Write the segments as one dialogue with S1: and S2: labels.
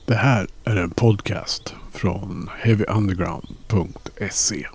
S1: Det här är en podcast från heavyunderground.se.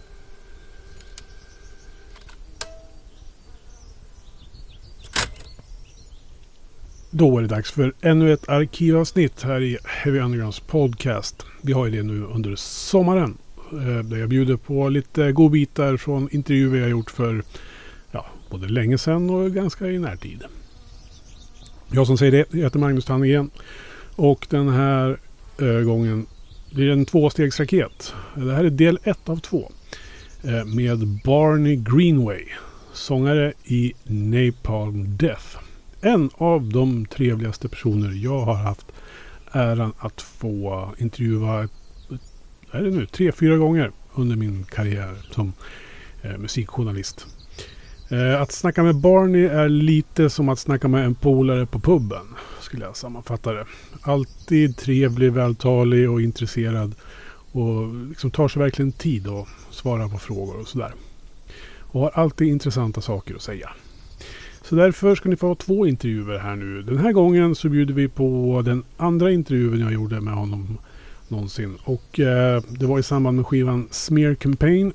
S1: Då är det dags för ännu ett arkivavsnitt här i Heavy Undergrounds podcast. Vi har ju det nu under sommaren. Där jag bjuder på lite godbitar från intervjuer jag gjort för både länge sedan och ganska i närtid. Jag som säger det heter Magnus Tannegren. Och den här gången blir det en tvåstegsraket. Det här är del 1 av 2. Med Barney Greenway, sångare i Napalm Death. En av de trevligaste personer jag har haft äran att få intervjua 3-4 gånger under min karriär som musikjournalist. Att snacka med Barney är lite som att snacka med en polare på puben, skulle jag sammanfatta det. Alltid trevlig, vältalig och intresserad och liksom tar sig verkligen tid att svara på frågor och sådär. Och har alltid intressanta saker att säga. Så därför ska ni få 2 intervjuer här nu. Den här gången så bjuder vi på den andra intervjun jag gjorde med honom någonsin. Och det var i samband med skivan Smear Campaign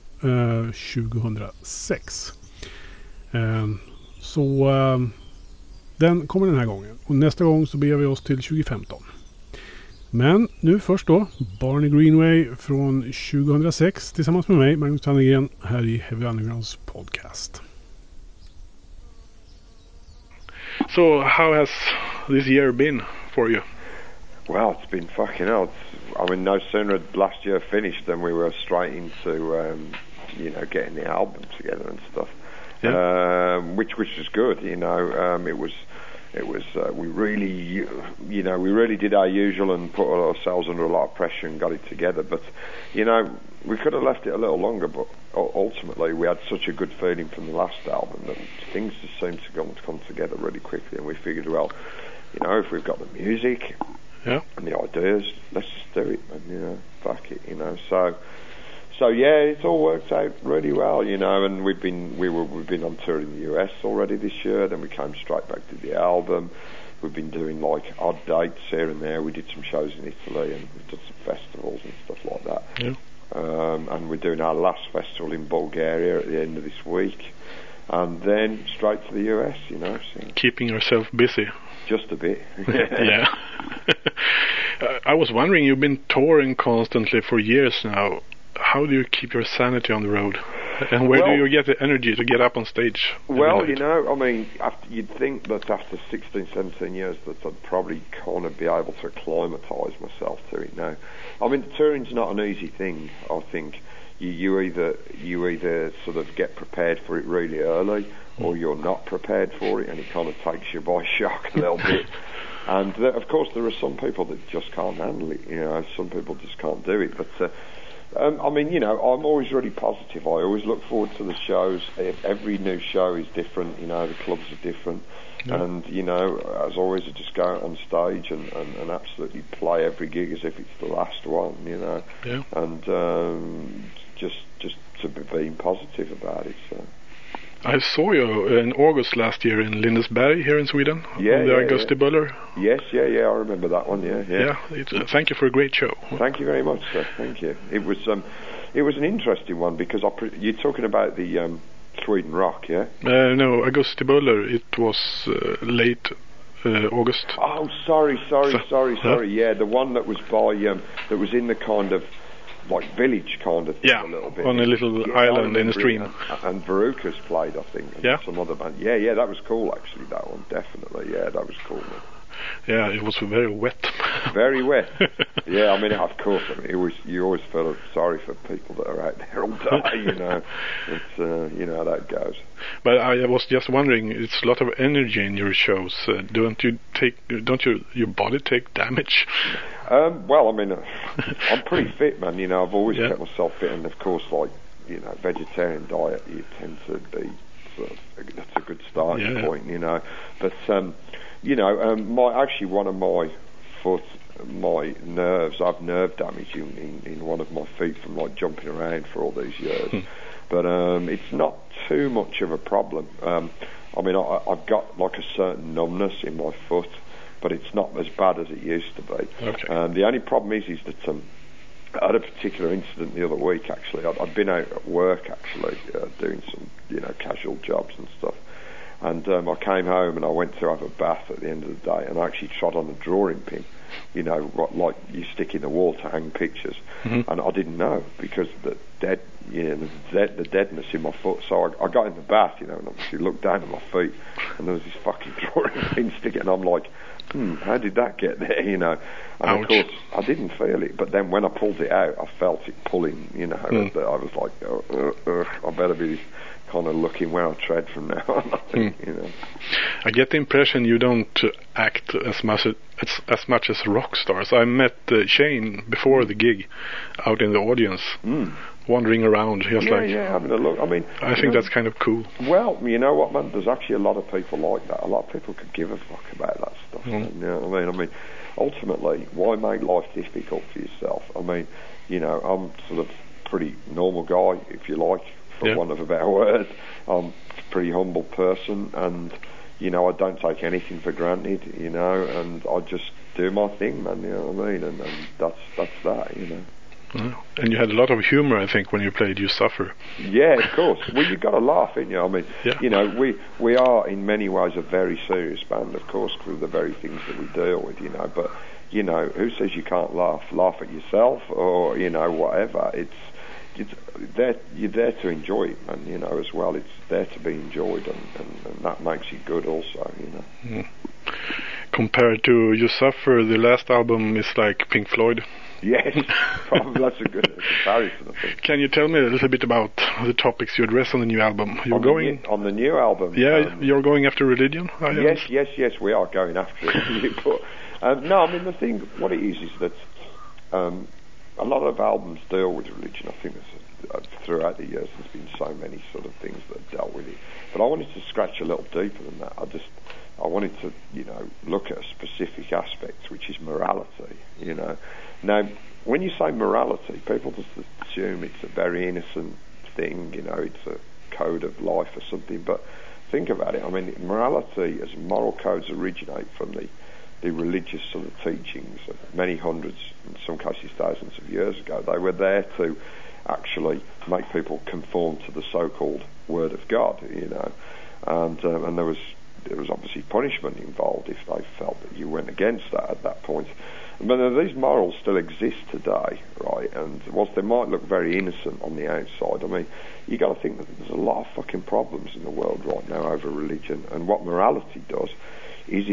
S1: 2006. Så den kommer den här gången. Och nästa gång så beger vi oss till 2015. Men nu först då, Barney Greenway från 2006 tillsammans med mig, Magnus Tannegren, här i Heavy Undergrounds podcast. So how has this year been for you?
S2: Well, it's been fucking hell. No sooner had last year finished than we were straight into, getting the album together and stuff.
S1: Yeah.
S2: Which was good, we really did our usual and put ourselves under a lot of pressure and got it together. But, we could have left it a little longer, but ultimately we had such a good feeling from the last album that things just seemed to come together really quickly, and we figured, well, if we've got the music and the ideas, let's just do it, and, fuck it, So yeah, it's all worked out really well, and we've been on tour in the US already this year. Then we came straight back to the album. We've been doing like odd dates here and there. We did some shows in Italy and we've done some festivals and stuff like that.
S1: Yeah.
S2: And we're doing our last festival in Bulgaria at the end of this week, and then straight to the US. So.
S1: Keeping yourself busy.
S2: Just a bit.
S1: Yeah. I was wondering, you've been touring constantly for years now. How do you keep your sanity on the road? And where do you get the energy to get up on stage?
S2: Well, you'd think that after 16, 17 years that I'd probably kind of be able to acclimatise myself to it now. Touring's not an easy thing, I think. You either sort of get prepared for it really early, or you're not prepared for it, and it kind of takes you by shock a little bit. And of course there are some people that just can't handle it, some people just can't do it, but... I'm always really positive. I always look forward to the shows. Every new show is different, the clubs are different. Yeah. And, as always, I just go out on stage and absolutely play every gig as if it's the last one, Yeah. And just to be being positive about it, so...
S1: I saw you in August last year in Lindesberg here in Sweden.
S2: Yeah,
S1: on the Augusti Buller.
S2: Yes, I remember that one. Yeah.
S1: Thank you for a great show.
S2: Thank you very much, sir. Thank you. It was an interesting one because you're talking about the Sweden Rock, yeah?
S1: No, Augusti Buller. It was late August.
S2: Oh, sorry. Yeah, the one that was by that was in the kind of like village kind of thing, a little bit.
S1: On a little island in a stream.
S2: And Veruca's played, I think, and some other band. Yeah, that was cool actually, that one, definitely. Yeah, that was cool, man.
S1: Yeah, it was very wet.
S2: Very wet. Yeah, of course, you always feel sorry for people that are out there all day, It's, how that goes.
S1: But I was just wondering, it's a lot of energy in your shows. Don't your body take damage?
S2: I'm pretty fit, man. I've always kept myself fit, and of course, vegetarian diet, you tend to be that's a good starting point, But one of my foot, my nerves, I've nerve damage in one of my feet from jumping around for all these years. But it's not too much of a problem. I've got a certain numbness in my foot but it's not as bad as it used to be.
S3: Okay.
S2: The only problem is that I had a particular incident the other week. Actually, I'd been out at work actually doing some casual jobs and stuff, and I came home and I went to have a bath at the end of the day, and I actually trod on a drawing pin, like you stick in the wall to hang pictures, and I didn't know because the deadness in my foot. So I got in the bath, and obviously looked down at my feet, and there was this fucking drawing pin sticking, and I'm like, how did that get there, And
S3: Ouch.
S2: of course, I didn't feel it, but then when I pulled it out, I felt it pulling, and I was like, I better be kind of looking where I tread from now on, I think,
S3: I get the impression you don't act as much as rock stars. I met Shane before the gig out in the audience, wandering around,
S2: having a look. I mean,
S3: I think that's kind of cool.
S2: Well, you know what, man? There's actually a lot of people like that. A lot of people could give a fuck about that stuff. You know what I mean? Ultimately, why make life difficult for yourself? I mean, I'm sort of pretty normal guy, if you like, for want of a better word. I'm a pretty humble person, and I don't take anything for granted, and I just do my thing, man. You know what I mean? And that's that,
S3: And you had a lot of humor, I think, when you played You Suffer.
S2: Yeah, of course. Well, you've got to laugh, ain't you? I mean, we are in many ways a very serious band, of course, through the very things that we deal with, but who says you can't laugh? Laugh at yourself, or whatever. You're there to enjoy it, man. As well. It's there to be enjoyed, and that makes it good, also.
S3: Compared to You Suffer, the last album is like Pink Floyd.
S2: Yes, probably that's a good comparison, I think.
S3: Can you tell me a little bit about the topics you address on the new album?
S2: On the new album.
S3: Yeah, you're going after religion.
S2: Yes, we are going after it. But, no, I mean what it is that a lot of albums deal with religion. I think throughout the years there's been so many sort of things that have dealt with it. But I wanted to scratch a little deeper than that. I wanted to, look at a specific aspect, which is morality, Now, when you say morality, people just assume it's a very innocent thing, it's a code of life or something, but think about it. I mean, morality as moral codes originate from the religious sort of teachings of many hundreds, in some cases thousands of years ago. They were there to actually make people conform to the so-called Word of God, and there was obviously punishment involved if they felt that you went against that at that point. But these morals still exist today, right? And whilst they might look very innocent on the outside, I mean, you got to think that there's a lot of fucking problems in the world right now over religion. And what morality does is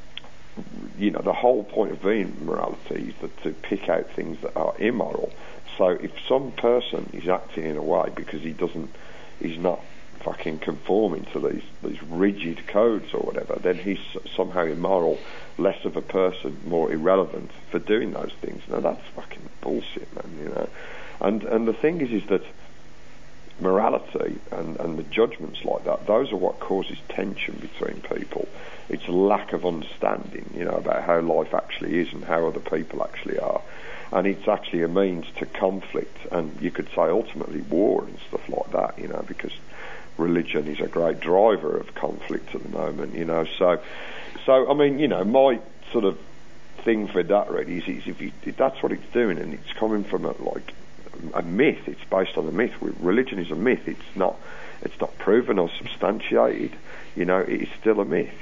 S2: the whole point of being morality is to pick out things that are immoral. So if some person is acting in a way because he's not fucking conforming to these rigid codes or whatever, then he's somehow immoral, less of a person, more irrelevant for doing those things. Now that's fucking bullshit, man. And the thing is that morality and the judgments like that, those are what causes tension between people. It's a lack of understanding, about how life actually is and how other people actually are. And it's actually a means to conflict, and you could say ultimately war and stuff like that, because religion is a great driver of conflict at the moment, So I mean, my sort of thing for that really is if that's what it's doing, and it's coming from a myth. It's based on a myth. Religion is a myth. It's not proven or substantiated. It is still a myth.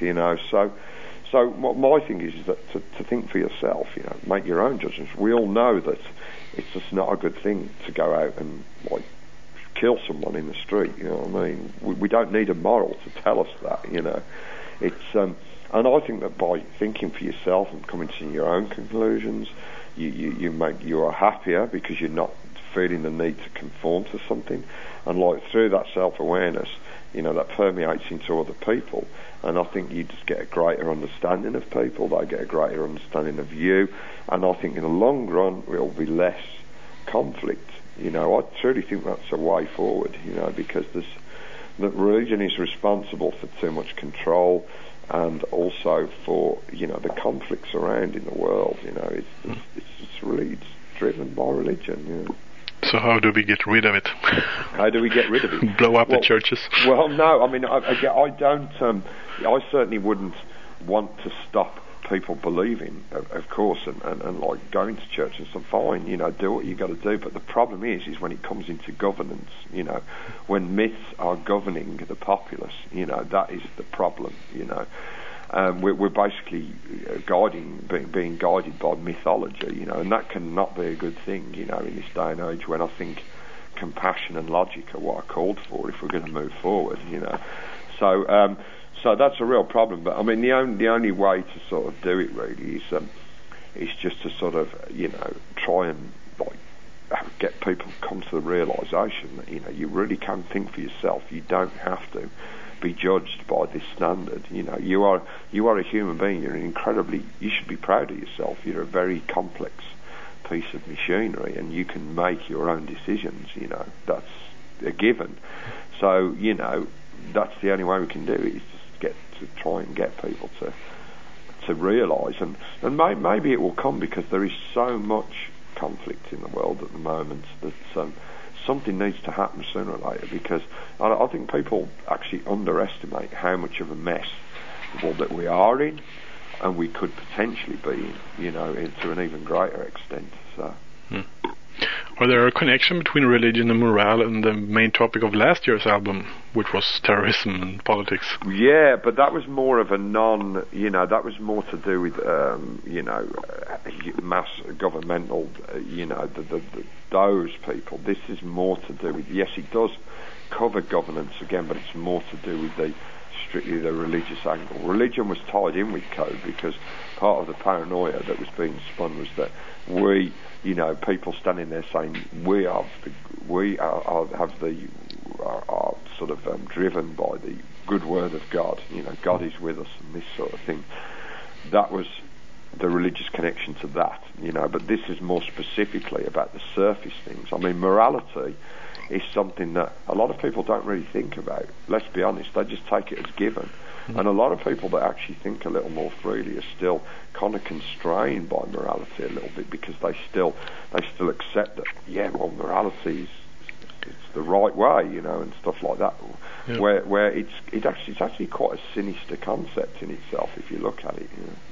S2: So what my thing is that to think for yourself. Make your own judgments. We all know that it's just not a good thing to go out and kill someone in the street. You know what I mean? We don't need a moral to tell us that. It's and I think that by thinking for yourself and coming to your own conclusions, you are happier because you're not feeling the need to conform to something, and through that self-awareness, that permeates into other people, and I think you just get a greater understanding of people. They get a greater understanding of you, and I think in the long run there will be less conflict. I truly think that's a way forward. Because that religion is responsible for too much control, and also for the conflicts around in the world. It's really driven by religion.
S3: So how do we get rid of it?
S2: How do we get rid of it?
S3: Blow up the churches?
S2: Well, no. I mean, I don't. I certainly wouldn't want to stop people believe in, of course, and like going to church and stuff, fine, do what you got to do. But the problem is when it comes into governance, when myths are governing the populace, that is the problem, We're basically being guided by mythology, and that cannot be a good thing, in this day and age when I think compassion and logic are what are called for if we're going to move forward, So that's a real problem. But I mean, the only way to sort of do it really is just to sort of try and get people to come to the realisation that you really can think for yourself. You don't have to be judged by this standard. You are a human being. You should be proud of yourself. You're a very complex piece of machinery, and you can make your own decisions. That's a given. So that's the only way we can do it. Is to try and get people to realise, and maybe it will come because there is so much conflict in the world at the moment that something needs to happen sooner or later, because I think people actually underestimate how much of a mess that we are in, and we could potentially be in, to an even greater extent. So.
S3: Are there a connection between religion and morale and the main topic of last year's album, which was terrorism and politics?
S2: Yeah, but that was more of a that was more to do with, mass governmental, those people. This is more to do with, yes, it does cover governance again, but it's more to do with strictly the religious angle. Religion was tied in with Code because part of the paranoia that was being spun was that people standing there saying we are sort of driven by the good word of God. God is with us and this sort of thing. That was the religious connection to that. But this is more specifically about the surface things. I mean, morality is something that a lot of people don't really think about. Let's be honest, they just take it as given. And a lot of people that actually think a little more freely are still kind of constrained by morality a little bit, because they still accept that, morality is it's the right way, and stuff like that. Yeah. Where it's actually quite a sinister concept in itself if you look at it.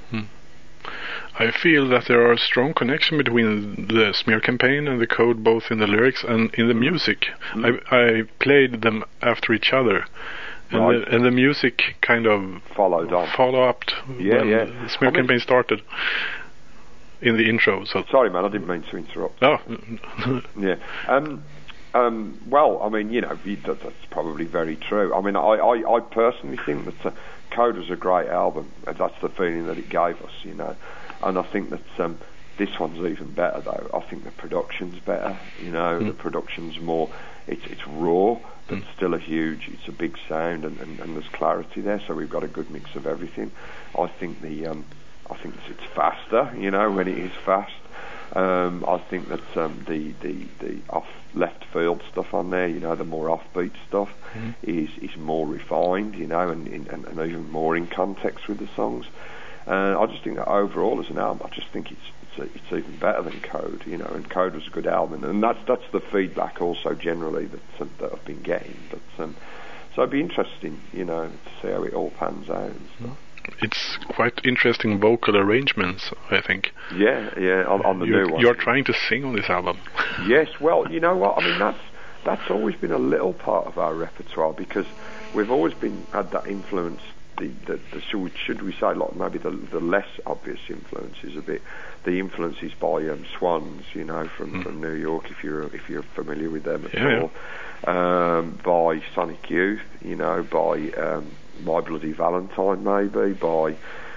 S3: I feel that there are a strong connection between the smear campaign and the Code, both in the lyrics and in the music. I played them after each other. And the music kind of followed up when the smear campaign started in the intro. So
S2: sorry, man, I didn't mean to interrupt.
S3: Oh,
S2: yeah. Well, I mean, that's probably very true. I mean, I personally think that Code was a great album. That's the feeling that it gave us, And I think that this one's even better, though. I think the production's better. The production's more. It's raw. But still it's a big sound, and there's clarity there. So we've got a good mix of everything. I think it's faster, when it is fast. I think that the off left field stuff on there, the more offbeat stuff, is more refined, and even more in context with the songs. I just think that overall as an album, I just think it's even better than Code, and Code was a good album, and that's the feedback also generally that I've been getting. But so it'd be interesting, to see how it all pans out and stuff.
S3: It's quite interesting vocal arrangements, I think.
S2: Yeah, on the new one.
S3: You're trying to sing on this album.
S2: Yes, well, you know what? I mean, that's always been a little part of our repertoire, because we've always had that influence. Should we say, like, maybe the less obvious influences a bit, the influences by Swans, from New York, if you're familiar with them at all, by Sonic Youth, by My Bloody Valentine, maybe by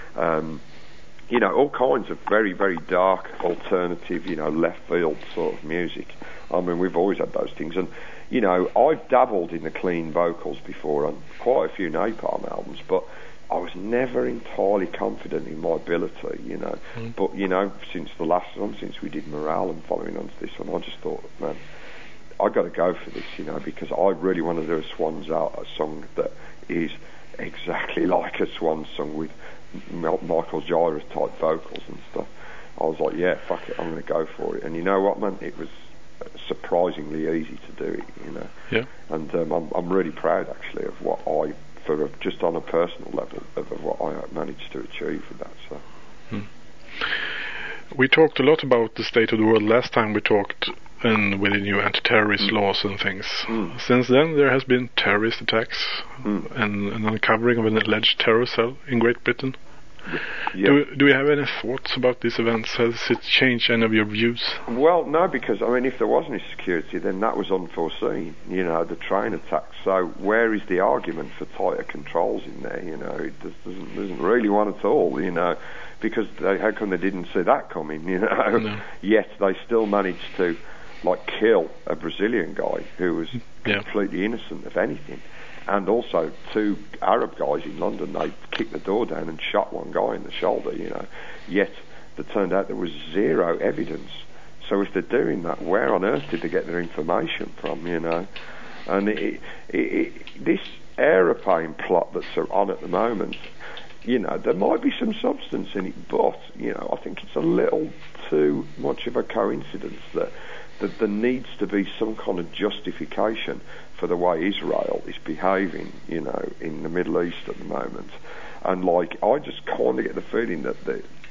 S2: all kinds of very, very dark alternative, left field sort of music. I mean, we've always had those things, and I've dabbled in the clean vocals before on quite a few Napalm albums, but I was never entirely confident in my ability, But, since the last one, since we did Morale and following on to this one, I just thought, man, I got to go for this, because I really want to do a Swans a song that is exactly like a Swans song with Michael Gira type vocals and stuff. I was like, yeah, fuck it, I'm going to go for it. And you know what, man, it was surprisingly easy to do it,
S3: Yeah.
S2: And I'm really proud actually of what just on a personal level, of what I managed to achieve with that. So.
S3: We talked a lot about the state of the world last time we talked, and with the new anti-terrorist laws and things. Since then, there has been terrorist attacks and an uncovering of an alleged terror cell in Great Britain.
S2: Yeah.
S3: Do you have any thoughts about these events? Has it changed any of your views?
S2: Well, no, because, I mean, if there was any security, then that was unforeseen, you know, the train attacks. So where is the argument for tighter controls in there, you know? It doesn't really one at all, you know, because how come they didn't see that coming, you know?
S3: No.
S2: Yet they still managed to, like, kill a Brazilian guy who was completely innocent of anything. And also 2 Arab guys in London, they kicked the door down and shot one guy in the shoulder, you know. Yet it turned out there was 0 evidence. So if they're doing that, where on earth did they get their information from, you know? And this aeroplane plot that's on at the moment, you know, there might be some substance in it, but, you know, I think it's a little too much of a coincidence that there needs to be some kind of justification for the way Israel is behaving, you know, in the Middle East at the moment. And, like, I just kind of get the feeling that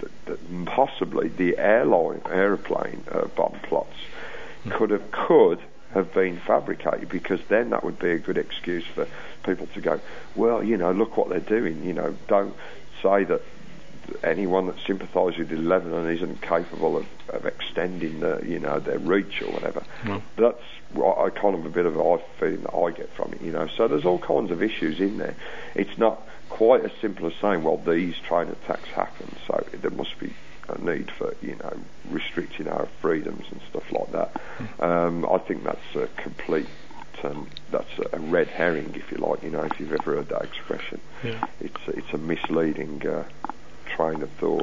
S2: possibly the aeroplane bomb plots could have been fabricated, because then that would be a good excuse for people to go, well, you know, look what they're doing, you know, don't say that anyone that sympathises with Lebanon isn't capable of extending their reach or whatever. That's what kind of a bit of a feeling that I get from it, you know. So there's all kinds of issues in there. It's not quite as simple as saying, well, these train attacks happen, so there must be a need for, you know, restricting our freedoms and stuff like that. I think that's a complete, that's a red herring, if you like, you know, if you've ever heard that expression.
S3: Yeah.
S2: It's a misleading train of thought.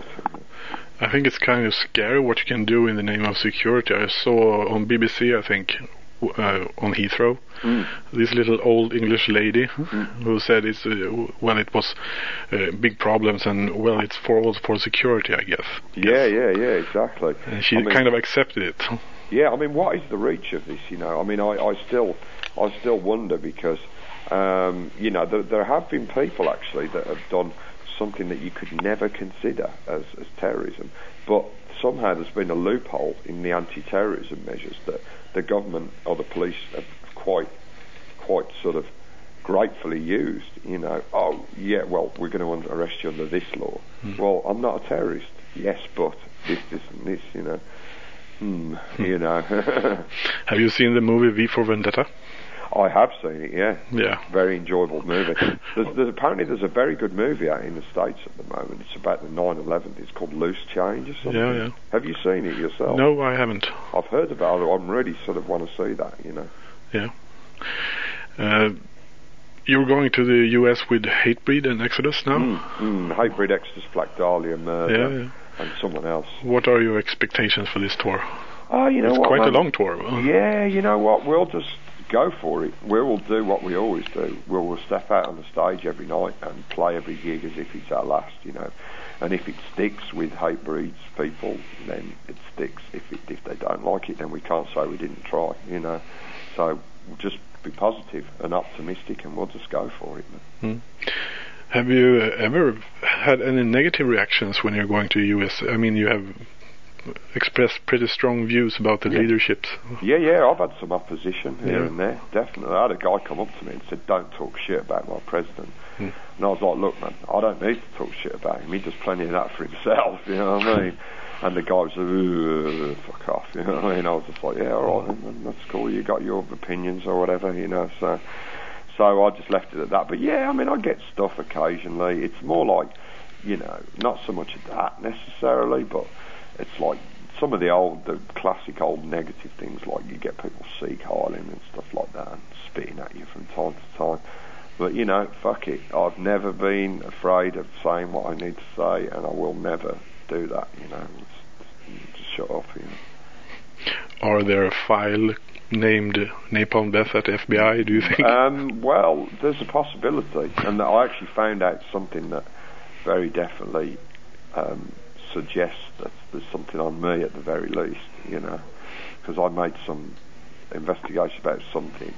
S3: I think it's kind of scary what you can do in the name of security. I saw on BBC, I think, on Heathrow, this little old English lady who said it was big problems, and well, it's all for security, I guess.
S2: Yeah, exactly.
S3: And she kind of accepted it.
S2: Yeah, I mean, what is the reach of this? You know, I mean, I still wonder, because you know, there have been people actually that have done something that you could never consider as terrorism, but somehow there's been a loophole in the anti-terrorism measures that the government or the police have quite sort of gratefully used, you know. Oh yeah, well, we're going to arrest you under this law. Well, I'm not a terrorist. Yes, but this and this, you know. You know.
S3: Have you seen the movie V for Vendetta?
S2: I have seen it, yeah.
S3: Yeah.
S2: Very enjoyable movie. Apparently there's a very good movie out in the States at the moment. It's about the 9/11. It's called Loose Change or something.
S3: Yeah.
S2: Have you seen it yourself?
S3: No, I haven't.
S2: I've heard about it. I'm really sort of want to see that, you know.
S3: Yeah. You're going to the US with Hatebreed and Exodus now?
S2: Hatebreed, Exodus, Black Dahlia, Murder, and someone else.
S3: What are your expectations for this tour?
S2: Oh, you know
S3: it's
S2: what,
S3: quite
S2: man?
S3: a long tour.
S2: Yeah, you know what? We'll just go for it. We will do what we always do. We'll step out on the stage every night and play every gig as if it's our last, you know. And if it sticks with Hatebreed's people, then it sticks. If they don't like it, then we can't say we didn't try, you know. So we'll just be positive and optimistic, and we'll just go for it.
S3: Have you ever had any negative reactions when you're going to the US? I mean, you have expressed pretty strong views about the leaderships.
S2: Yeah, I've had some opposition here and there, definitely. I had a guy come up to me and said, don't talk shit about my president. And I was like, look, man, I don't need to talk shit about him. He does plenty of that for himself, you know what I mean? And the guy was like, fuck off, you know what I mean? I was just like, yeah, all right, then, that's cool, you got your opinions or whatever, you know, so I just left it at that. But yeah, I mean, I get stuff occasionally. It's more like, you know, not so much of that necessarily, but it's like some of the classic old negative things, like you get people seek-hiling and stuff like that and spitting at you from time to time. But, you know, fuck it. I've never been afraid of saying what I need to say, and I will never do that, you know. Just shut up, you know.
S3: Are there a file named Napalm Death at FBI, do you think?
S2: Well, there's a possibility, and I actually found out something that very definitely suggests that there's something on me at the very least, you know, because I made some investigation about something,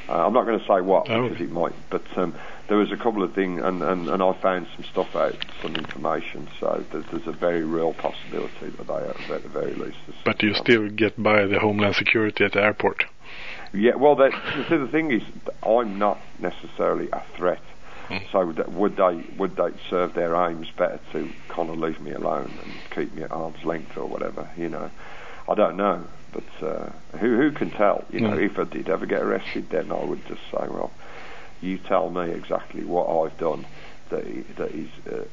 S2: I'm not going to say what
S3: Oh.
S2: because it might, but there was a couple of things, and I found some stuff out, some information. So there's a very real possibility that they are, at the very least.
S3: But you still get by the Homeland Security at the airport.
S2: Yeah, well, the thing is, I'm not necessarily a threat. So would they serve their aims better to kind of leave me alone and keep me at arm's length or whatever? You know, I don't know, but who can tell? You know, if I did ever get arrested, then I would just say, well, you tell me exactly what I've done that is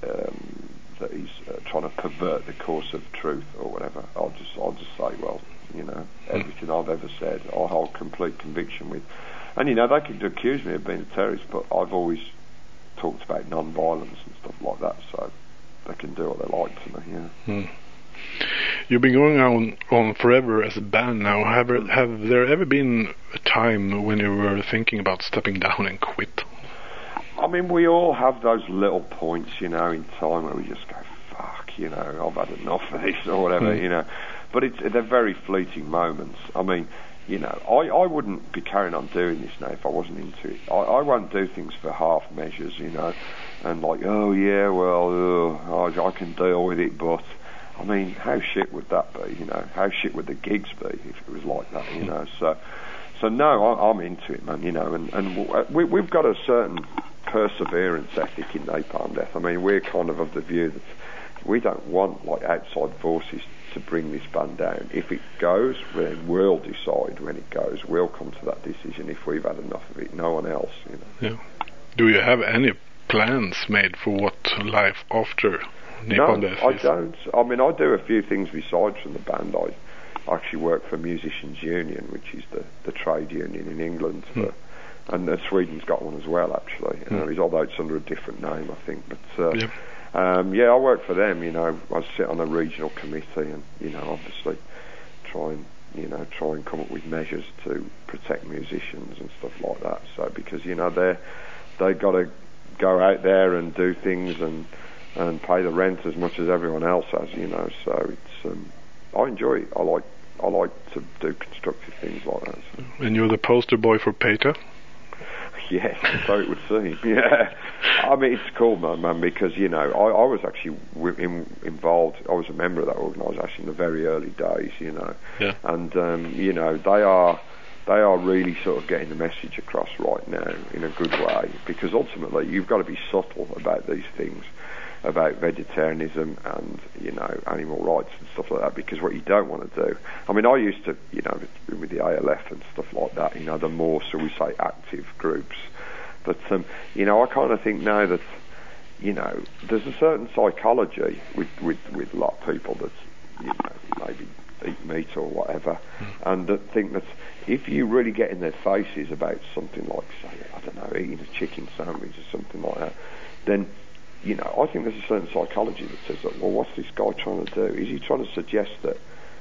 S2: trying to pervert the course of truth or whatever. I'll just say, well, you know, everything I've ever said, I hold complete conviction with. And you know, they could accuse me of being a terrorist, but I've always talked about non-violence and stuff like that, so they can do what they like to me. Yeah.
S3: You've been going on forever as a band now. Have there ever been a time when you were thinking about stepping down and quit?
S2: I mean, we all have those little points, you know, in time where we just go, fuck, you know, I've had enough of this or whatever, you know. But they're very fleeting moments. I mean, you know, I wouldn't be carrying on doing this now if I wasn't into it. I won't do things for half measures, you know, and like, oh yeah, well, I can deal with it, but I mean, how shit would that be, you know? How shit would the gigs be if it was like that, you know? So no, I'm into it, man, you know, and we've got a certain perseverance ethic in Napalm Death. I mean, we're kind of the view that we don't want, like, outside forces to bring this band down. If it goes, then we'll decide when it goes. We'll come to that decision if we've had enough of it. No one else, you know.
S3: Yeah. Do you have any plans made for what life after Napalm Death is?
S2: I don't. I mean, I do a few things besides from the band. I actually work for Musicians Union, which is the trade union in England, and Sweden's got one as well, actually. Although it's under a different name, I think. But I work for them. You know, I sit on a regional committee, and you know, obviously try and come up with measures to protect musicians and stuff like that. So because you know they got to go out there and do things and pay the rent as much as everyone else has, you know. So it's I enjoy it. I like to do constructive things like that. So.
S3: And you're the poster boy for PETA?
S2: Yes, so it would seem. Yeah, I mean it's cool, man, because you know I was actually involved. I was a member of that organisation in the very early days, you know.
S3: Yeah. And
S2: you know they are really sort of getting the message across right now in a good way, because ultimately you've got to be subtle about these things, about vegetarianism and, you know, animal rights and stuff like that, because what you don't want to do, I mean, I used to, you know, with the ALF and stuff like that, you know, the more, so we say, active groups, but, you know, I kind of think now that, you know, there's a certain psychology with a lot of people that, you know, maybe eat meat or whatever, and that think that if you really get in their faces about something like, say, I don't know, eating a chicken sandwich or something like that, then, you know, I think there's a certain psychology that says that, well, what's this guy trying to do? Is he trying to suggest that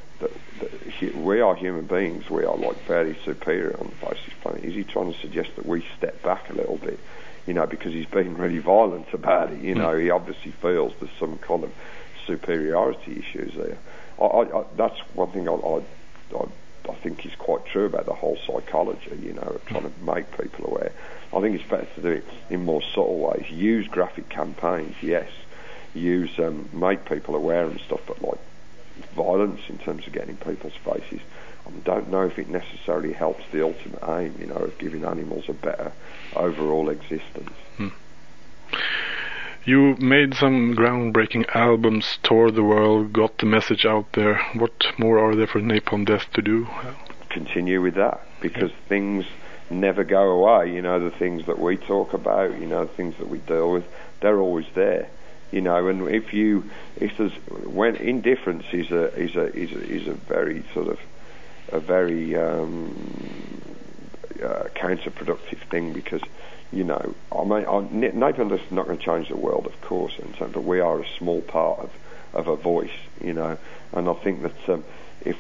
S2: we are human beings, we are like fairly superior on the face of this planet? Is he trying to suggest that we step back a little bit, you know, because he's been really violent about it? You know, he obviously feels there's some kind of superiority issues there. That's one thing I think is quite true about the whole psychology, you know, of trying to make people aware. I think it's better to do it in more subtle ways. Use graphic campaigns, yes. Use make people aware and stuff, but like violence in terms of getting in people's faces, I don't know if it necessarily helps the ultimate aim, you know, of giving animals a better overall existence.
S3: You made some groundbreaking albums, toured the world, got the message out there. What more are there for Napalm Death to do?
S2: Continue with that, because things never go away. You know, the things that we talk about, you know, the things that we deal with, they're always there. You know, and when indifference is a very sort of a very counterproductive thing, because, you know, I mean, Napalm Death is not going to change the world, of course, but we are a small part of a voice, you know, and I think that if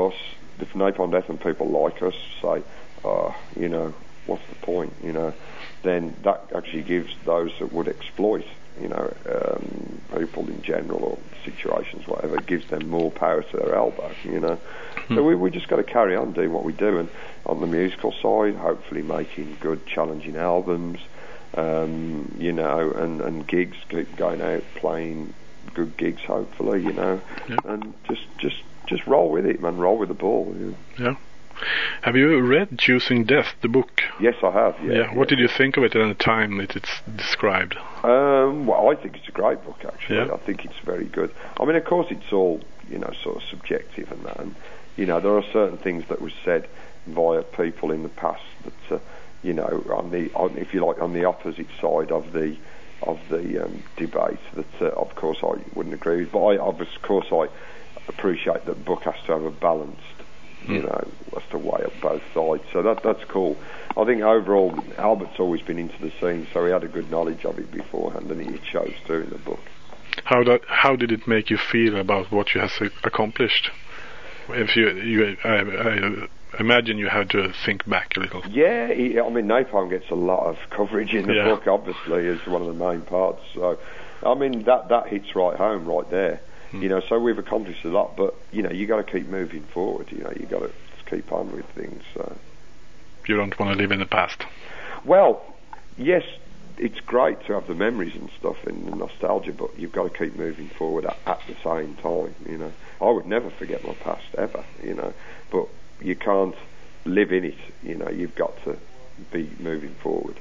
S2: Napalm Death and people like us say, you know, what's the point, you know, then that actually gives those that would exploit, people in general or situations, whatever, it gives them more power to their elbow, So we just got to carry on doing what we do, and on the musical side, hopefully making good, challenging albums, and gigs, keep going out, playing good gigs, hopefully, and just roll with it, man, roll with the ball.
S3: Yeah. Have you read Choosing Death, the book?
S2: Yes, I have.
S3: What did you think of it at the time it's described?
S2: Well, I think it's a great book, actually.
S3: Yeah.
S2: I think it's very good. I mean, of course, it's all, sort of subjective and that. And, there are certain things that were said via people in the past that, on the opposite side of the debate that, of course, I wouldn't agree with. But of course, I appreciate that the book has to have a balanced, has to weigh up both sides. So that's cool. I think overall, Albert's always been into the scene, so he had a good knowledge of it beforehand, and he chose to in the book.
S3: How did it make you feel about what you have accomplished? If I imagine you had to think back a little.
S2: Yeah, Napalm gets a lot of coverage in the book, obviously, as one of the main parts. So, that hits right home right there. So we've accomplished a lot, but, you got to keep moving forward. You got to keep on with things.
S3: You don't want to live in the past?
S2: Well, yes, it's great to have the memories and stuff and the nostalgia, but you've got to keep moving forward at the same time, I would never forget my past, ever, but you can't live in it, you've got to be moving forward.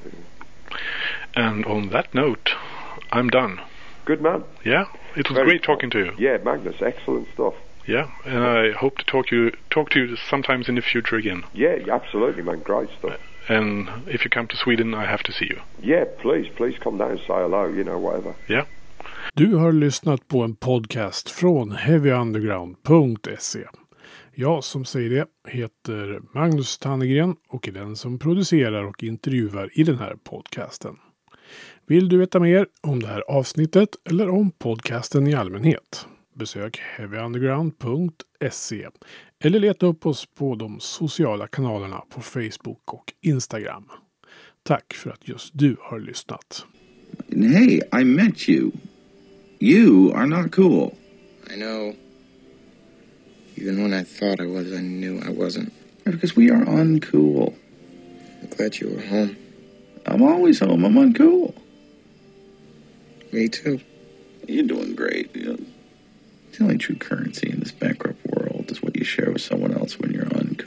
S3: And on that note, I'm done.
S2: Good man.
S3: Yeah, it was great talking to you.
S2: Yeah, Magnus, excellent stuff.
S3: Yeah, and I hope to talk to you sometimes in the future again.
S2: Yeah, absolutely, man, great stuff.
S3: And if you come to Sweden, I have to see you.
S2: Yeah, please come down and say hello, whatever.
S3: Yeah.
S1: Du har lyssnat på en podcast från heavyunderground.se. Jag som säger det heter Magnus Tannegren och är den som producerar och intervjuar i den här podcasten. Vill du veta mer om det här avsnittet eller om podcasten i allmänhet? Besök heavyunderground.se eller leta upp oss på de sociala kanalerna på Facebook och Instagram. Tack för att just du har lyssnat.
S4: Hey, I met you. You are not cool.
S5: I know. Even when I thought I was, I knew I wasn't.
S4: Because we are uncool.
S5: I'm glad you were home.
S4: I'm always home. I'm uncool.
S5: Me too.
S4: You're doing great. The only true currency in this bankrupt world is what you share with someone else when you're uncool.